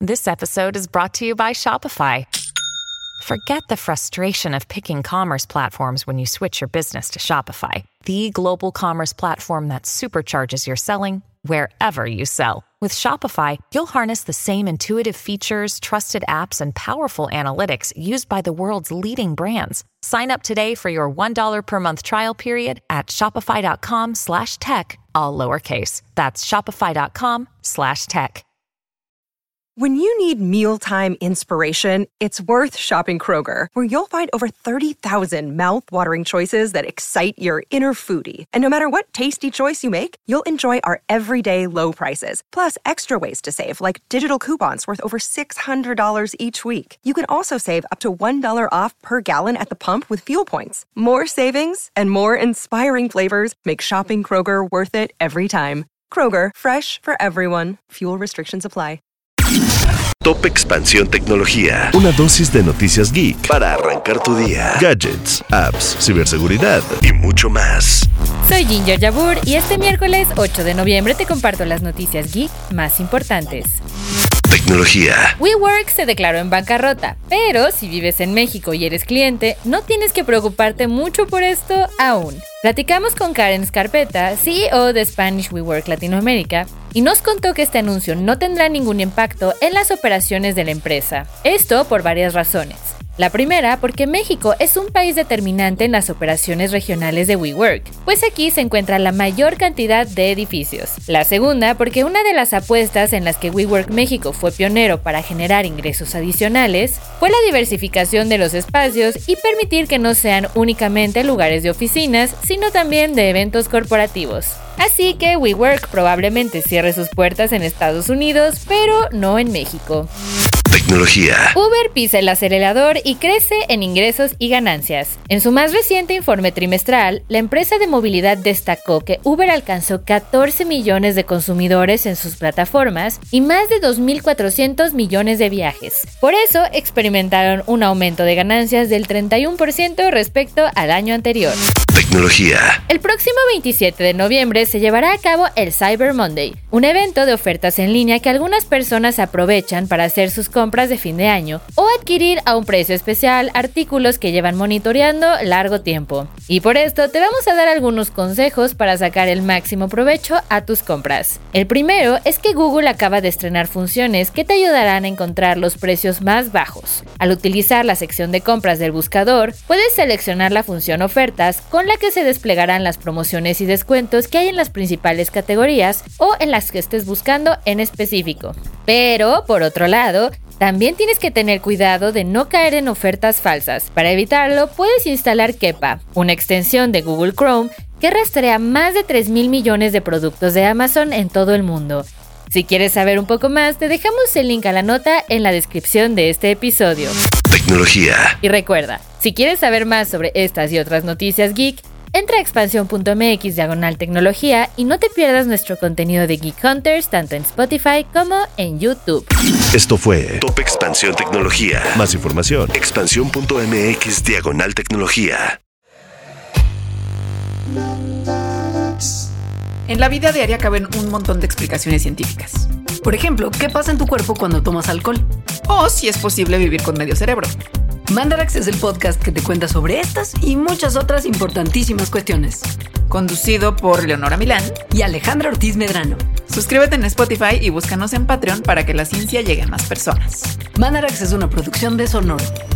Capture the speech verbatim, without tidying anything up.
This episode is brought to you by Shopify. Forget the frustration of picking commerce platforms when you switch your business to Shopify, the global commerce platform that supercharges your selling wherever you sell. With Shopify, you'll harness the same intuitive features, trusted apps, and powerful analytics used by the world's leading brands. Sign up today for your one dollar per month trial period at shopify.com slash tech, all lowercase. That's shopify.com slash tech. When you need mealtime inspiration, it's worth shopping Kroger, where you'll find over thirty thousand mouth-watering choices that excite your inner foodie. And no matter what tasty choice you make, you'll enjoy our everyday low prices, plus extra ways to save, like digital coupons worth over six hundred dollars each week. You can also save up to one dollar off per gallon at the pump with fuel points. More savings and more inspiring flavors make shopping Kroger worth it every time. Kroger, fresh for everyone. Fuel restrictions apply. Top Expansión Tecnología. Una dosis de noticias geek para arrancar tu día. Gadgets, apps, ciberseguridad y mucho más. Soy Ginger Yabur y este miércoles ocho de noviembre te comparto las noticias geek más importantes. Tecnología. WeWork se declaró en bancarrota, pero si vives en México y eres cliente, no tienes que preocuparte mucho por esto aún. Platicamos con Karen Scarpetta, C E O de Spanish WeWork Latinoamérica, y nos contó que este anuncio no tendrá ningún impacto en las operaciones de la empresa. Esto por varias razones. La primera, porque México es un país determinante en las operaciones regionales de WeWork, pues aquí se encuentra la mayor cantidad de edificios. La segunda, porque una de las apuestas en las que WeWork México fue pionero para generar ingresos adicionales fue la diversificación de los espacios y permitir que no sean únicamente lugares de oficinas, sino también de eventos corporativos. Así que WeWork probablemente cierre sus puertas en Estados Unidos, pero no en México. Tecnología. Uber pisa el acelerador y crece en ingresos y ganancias. En su más reciente informe trimestral, la empresa de movilidad destacó que Uber alcanzó catorce millones de consumidores en sus plataformas y más de dos mil cuatrocientos millones de viajes. Por eso, experimentaron un aumento de ganancias del treinta y uno por ciento respecto al año anterior. Tecnología. El próximo veintisiete de noviembre se llevará a cabo el Cyber Monday, un evento de ofertas en línea que algunas personas aprovechan para hacer sus compras de fin de año o adquirir a un precio especial artículos que llevan monitoreando largo tiempo. Y por esto te vamos a dar algunos consejos para sacar el máximo provecho a tus compras. El primero es que Google acaba de estrenar funciones que te ayudarán a encontrar los precios más bajos. Al utilizar la sección de compras del buscador, puedes seleccionar la función ofertas con la que se desplegarán las promociones y descuentos que hay en las principales categorías o en las que estés buscando en específico. Pero, por otro lado, también tienes que tener cuidado de no caer en ofertas falsas. Para evitarlo, puedes instalar Kepa, una extensión de Google Chrome que rastrea más de tres mil millones de productos de Amazon en todo el mundo. Si quieres saber un poco más, te dejamos el link a la nota en la descripción de este episodio. Tecnología. Y recuerda, si quieres saber más sobre estas y otras noticias geek, entra a expansión.mx diagonal tecnología y no te pierdas nuestro contenido de Geek Hunters tanto en Spotify como en YouTube. Esto fue Top Expansión Tecnología. Más información, expansión.mx diagonal tecnología. En la vida diaria caben un montón de explicaciones científicas. Por ejemplo, ¿qué pasa en tu cuerpo cuando tomas alcohol? O si es posible vivir con medio cerebro. Mandarax es el podcast que te cuenta sobre estas y muchas otras importantísimas cuestiones. Conducido por Leonora Milán y Alejandra Ortiz Medrano. Suscríbete en Spotify y búscanos en Patreon para que la ciencia llegue a más personas. Mandarax es una producción de Sonoro.